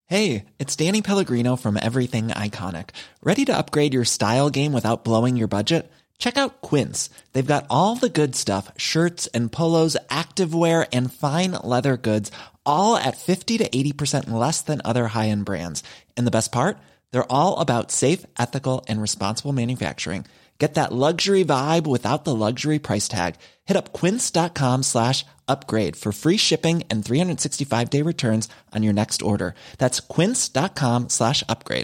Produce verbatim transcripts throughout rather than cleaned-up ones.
Hey, it's Danny Pellegrino from Everything Iconic. Ready to upgrade your style game without blowing your budget? Check out Quince. They've got all the good stuff, shirts and polos, activewear, and fine leather goods, all at fifty to eighty percent less than other high-end brands. And the best part? They're all about safe, ethical, and responsible manufacturing. Get that luxury vibe without the luxury price tag. Hit up quince.com slash upgrade for free shipping and three sixty-five day returns on your next order. That's quince.com slash upgrade.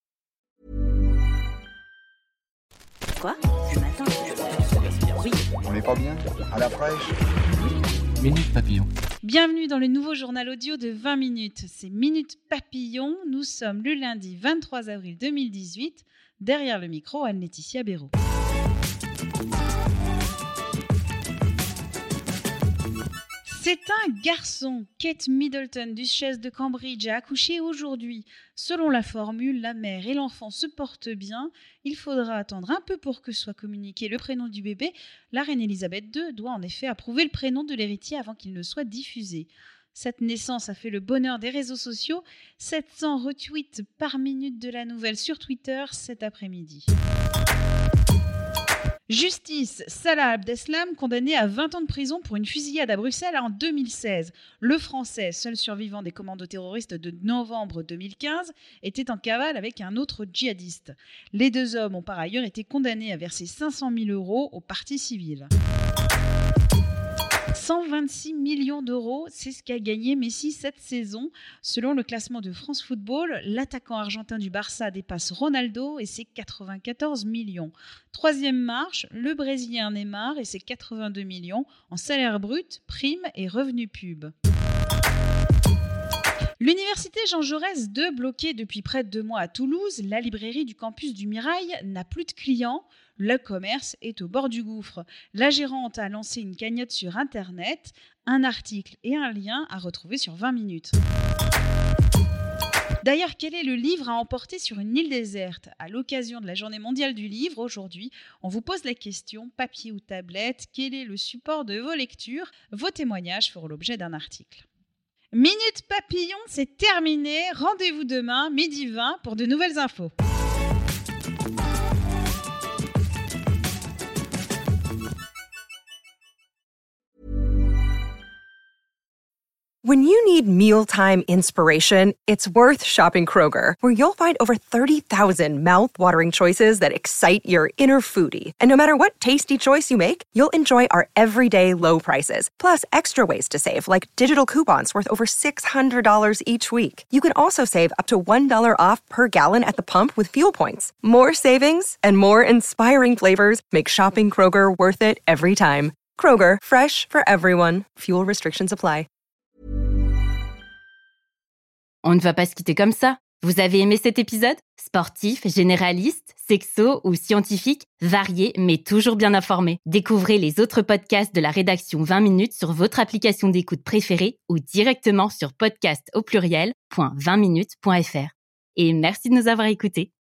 Quoi? Ce matin, oui. On n'est pas bien? À la fraîche? Minute Papillon. Bienvenue dans le nouveau journal audio de vingt minutes. C'est Minute Papillon. Nous sommes le lundi vingt-trois avril deux mille dix-huit. Derrière le micro, Anne-Laetitia Béraud. C'est un garçon. Kate Middleton, duchesse de Cambridge, a accouché aujourd'hui. Selon la formule, la mère et l'enfant se portent bien. Il faudra attendre un peu pour que soit communiqué le prénom du bébé. La reine Elisabeth deux doit en effet approuver le prénom de l'héritier avant qu'il ne soit diffusé. Cette naissance a fait le bonheur des réseaux sociaux. sept cents retweets par minute de la nouvelle sur Twitter cet après-midi. Justice, Salah Abdeslam, condamné à vingt ans de prison pour une fusillade à Bruxelles en deux mille seize. Le Français, seul survivant des commandos terroristes de novembre deux mille quinze, était en cavale avec un autre djihadiste. Les deux hommes ont par ailleurs été condamnés à verser cinq cent mille euros aux parties civiles. cent vingt-six millions d'euros, c'est ce qu'a gagné Messi cette saison. Selon le classement de France Football, l'attaquant argentin du Barça dépasse Ronaldo et ses quatre-vingt-quatorze millions. Troisième marche, le Brésilien Neymar et ses quatre-vingt-deux millions en salaire brut, primes et revenus pub. L'université Jean Jaurès deux, bloquée depuis près de deux mois à Toulouse, la librairie du campus du Mirail n'a plus de clients. Le commerce est au bord du gouffre. La gérante a lancé une cagnotte sur Internet, un article et un lien à retrouver sur vingt minutes. D'ailleurs, quel est le livre à emporter sur une île déserte? À l'occasion de la Journée mondiale du livre, aujourd'hui, on vous pose la question, papier ou tablette, quel est le support de vos lectures? Vos témoignages feront l'objet d'un article. Minute Papillon, c'est terminé. Rendez-vous demain, midi vingt, pour de nouvelles infos. When you need mealtime inspiration, it's worth shopping Kroger, where you'll find over thirty thousand mouth-watering choices that excite your inner foodie. And no matter what tasty choice you make, you'll enjoy our everyday low prices, plus extra ways to save, like digital coupons worth over six hundred dollars each week. You can also save up to one dollar off per gallon at the pump with fuel points. More savings and more inspiring flavors make shopping Kroger worth it every time. Kroger, fresh for everyone. Fuel restrictions apply. On ne va pas se quitter comme ça. Vous avez aimé cet épisode? Sportif, généraliste, sexo ou scientifique, varié mais toujours bien informé. Découvrez les autres podcasts de la rédaction vingt minutes sur votre application d'écoute préférée ou directement sur podcast au pluriel point vingt minutes point f r. Et merci de nous avoir écoutés.